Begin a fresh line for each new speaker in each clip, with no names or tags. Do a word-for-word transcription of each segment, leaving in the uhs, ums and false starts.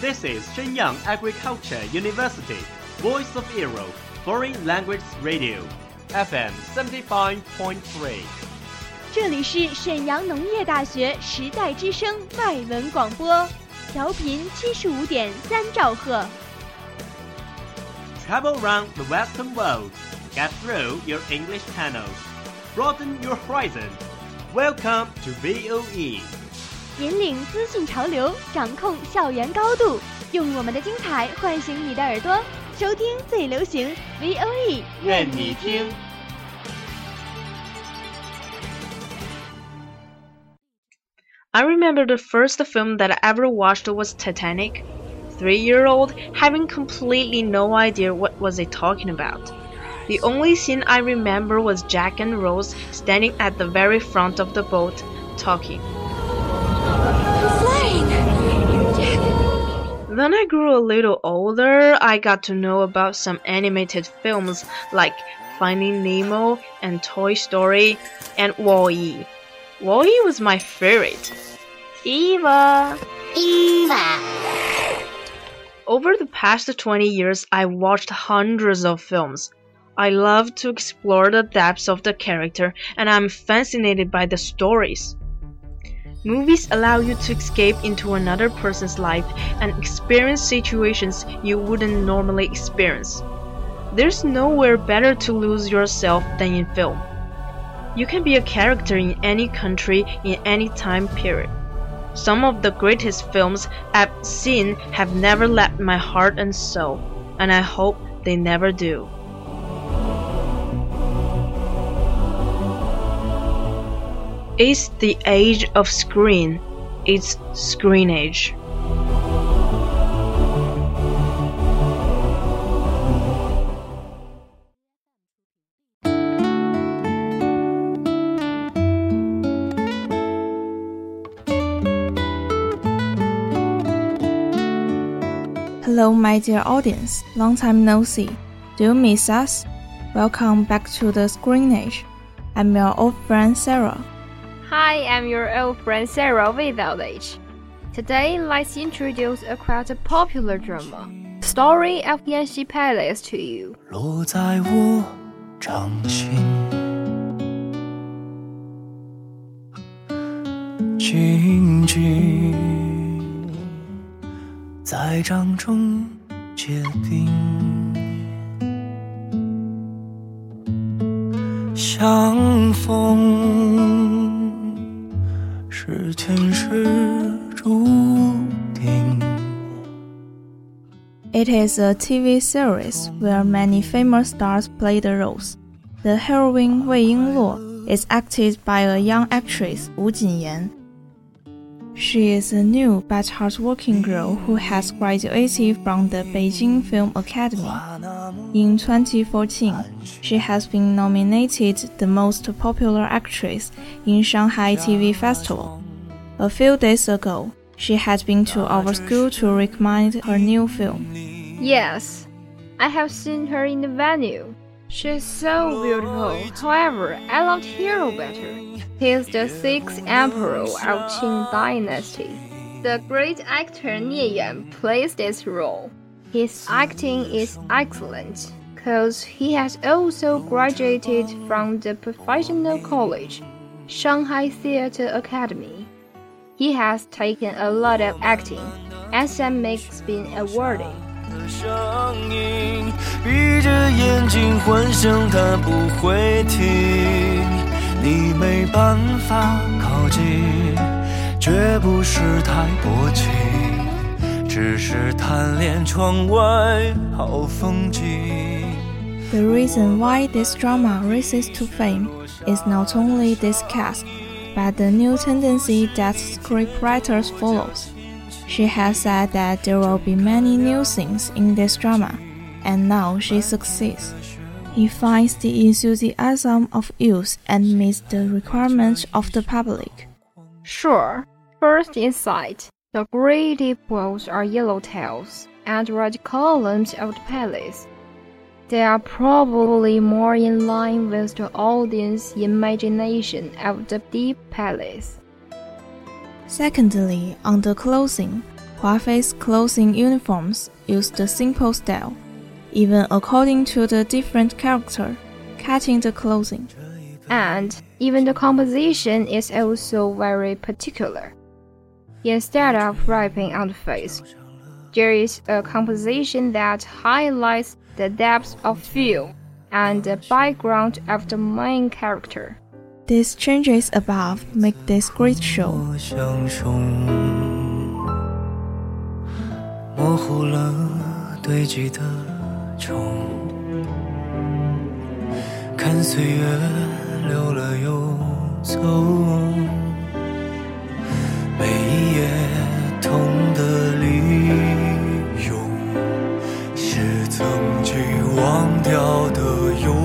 This is Shenyang Agriculture University, Voice of Europe, Foreign Language Radio, F M seventy-five point three.
这里是沈阳农业大学时代之声外文广播，调频七十五点三兆赫。
Travel around the Western world, get through your English channels, broaden your horizon. Welcome to V O E.
引领资讯潮流，掌控校园高度，用我们的精彩唤醒你的耳朵，收听最流行 V O E， 愿你听。
I remember the first film that I ever watched was Titanic. Three-year-old, having completely no idea what was it talking about. The only scene I remember was Jack and Rose standing at the very front of the boat, talking. Then I grew a little older. I got to know about some animated films like Finding Nemo and Toy Story and Wall-E. Wall-E was my favorite. Eva!
Eva!
Over the past twenty years, I watched hundreds of films. I love to explore the depths of the character, and I'm fascinated by the stories. Movies allow you to escape into another person's life and experience situations you wouldn't normally experience. There's nowhere better to lose yourself than in film. You can be a character in any country, in any time period. Some of the greatest films I've seen have never left my heart and soul, and I hope they never do. It's the age of screen. It's screen age.
Hello, my dear audience. Long time no see. Do you miss us? Welcome back to the Screen Age. I'm your old friend Sarah.
Hi, I'm your old friend Sarah without age. Today, let's introduce a quite popular drama, Story of Yanxi Palace to you.
落在我掌心，静静在掌中结冰，相逢是前世注定。
It is a T V series where many famous stars play the roles. The heroine Wei Yingluo is acted by a young actress Wu Jinyan. She is a new but hardworking girl who has graduated from the Beijing Film Academy. In twenty fourteen, she has been nominated the most popular actress in Shanghai T V Festival. A few days ago, she had been to our school to recommend her new film.
Yes, I have seen her in the venue. She's so beautiful. However, I loved Hero better. He is the sixth emperor of Qing Dynasty. The great actor Nie Yan plays this role. His acting is excellent, because he has also graduated from the professional college, Shanghai Theatre Academy. He has taken a lot of acting, and that makes been awarded.
声音闭着眼睛幻想它不会停，你没办法靠近，绝不是太薄情，只是贪恋窗外好风景。
The reason why this drama rises to fame is not only this cast, but the new tendency that scriptwriters follows. She has said that there will be many new things in this drama, and now she succeeds. He finds the enthusiasm of youth and meets the requirements of the public.
Sure, first in sight, the great deep walls are yellow tiles and red columns of the palace. They are probably more in line with the audience imagination of the deep palace.
Secondly, on the clothing, Huafei's clothing uniforms used a simple style, even according to the different character, cutting the clothing.
And even the composition is also very particular. Instead of wrapping on the face, there is a composition that highlights the depth of feel and the background of the main character.
These changes above make this great show.
模糊了堆积的虫，看岁月流了又走，每一页痛的利用，是曾经忘掉的忧。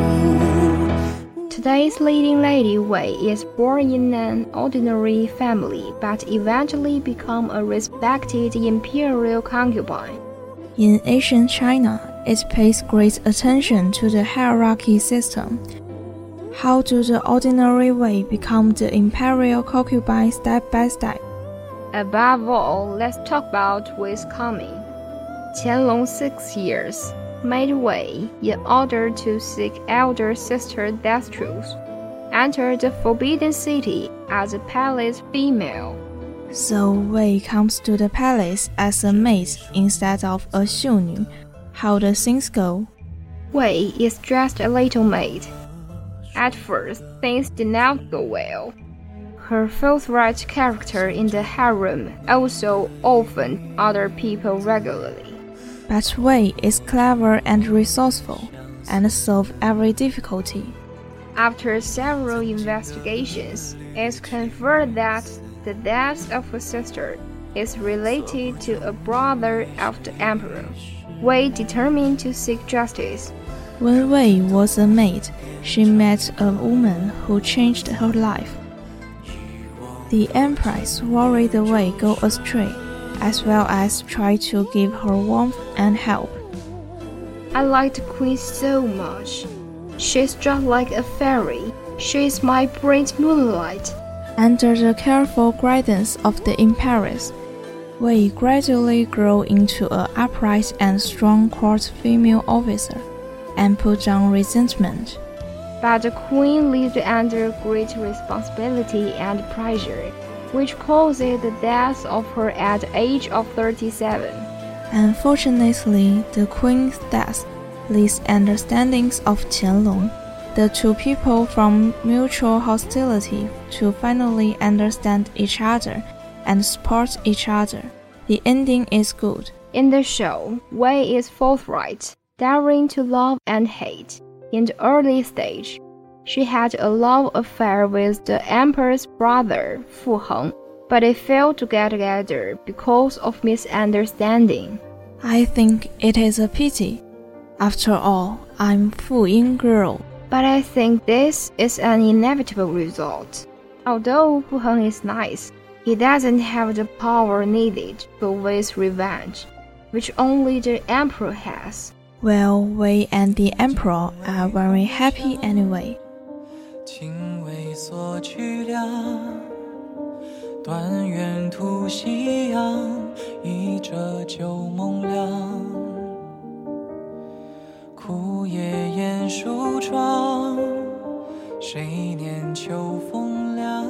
Today's leading lady Wei is born in an ordinary family but eventually become a respected imperial concubine.
In ancient China, it pays great attention to the hierarchy system. How do the ordinary Wei become the imperial concubine step by step?
Above all, let's talk about Wei's coming. Qianlong six years made Wei, in order to seek elder sister Death Truth, enter the Forbidden City as a palace female.
So Wei comes to the palace as a maid instead of a xiunu. How do things go?
Wei is just a little maid. At first, things did not go well. Her forthright character in the harem also offended other people regularly.
But Wei is clever and resourceful, and solves every difficulty.
After several investigations, it's confirmed that the death of her sister is related to a brother of the emperor. Wei determined to seek justice.
When Wei was a maid, she met a woman who changed her life. The empress worried Wei go astray, as well as try to give her warmth and help.
I like the queen so much. She's just like a fairy. She's my bright moonlight.
Under the careful guidance of the empress, Wei gradually grew into an upright and strong court female officer, and put down resentment.
But the queen lived under great responsibility and pressure, which caused the death of her at the age of thirty-seven.
Unfortunately, the queen's death leads understandings of Qianlong, the two people from mutual hostility, to finally understand each other and support each other. The ending is good.
In the show, Wei is forthright, daring to love and hate. In the early stage, she had a love affair with the emperor's brother, Fu Heng, but they failed to get together because of misunderstanding.
I think it is a pity. After all, I'm Fu Ying girl.
But I think this is an inevitable result. Although Fu Heng is nice, he doesn't have the power needed for Wei's revenge, which only the emperor has.
Well, Wei and the emperor are very happy anyway.
情为所去了，断垣突夕阳，一折旧梦凉。枯叶掩书窗，谁念秋风凉？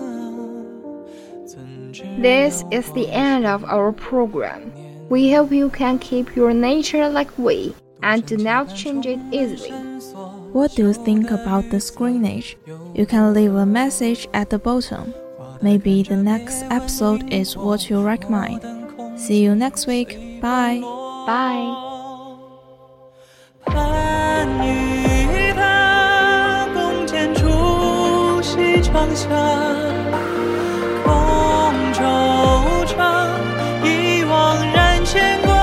This is the end of our program. We hope you can keep your nature like we and do not change it easily.
What do you think about the screenage? You can leave a message at the bottom. Maybe the next episode is what you recommend. See you next week. Bye.
Bye.
盼与他共剪出西窗下，空惆怅，一往然牵挂。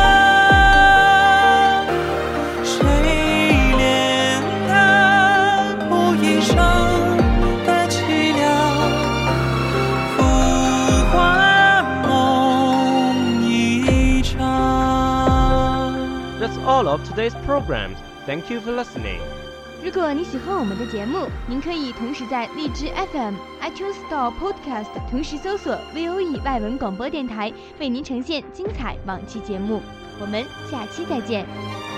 谁怜他布衣上的凄凉？浮华梦一场。
That's all of today's program. Thank you for listening.
如果你喜欢我们的节目，您可以同时在荔枝 F M、iTunes Store Podcast 同时搜索 V O E 外文广播电台，为您呈现精彩往期节目。我们下期再见。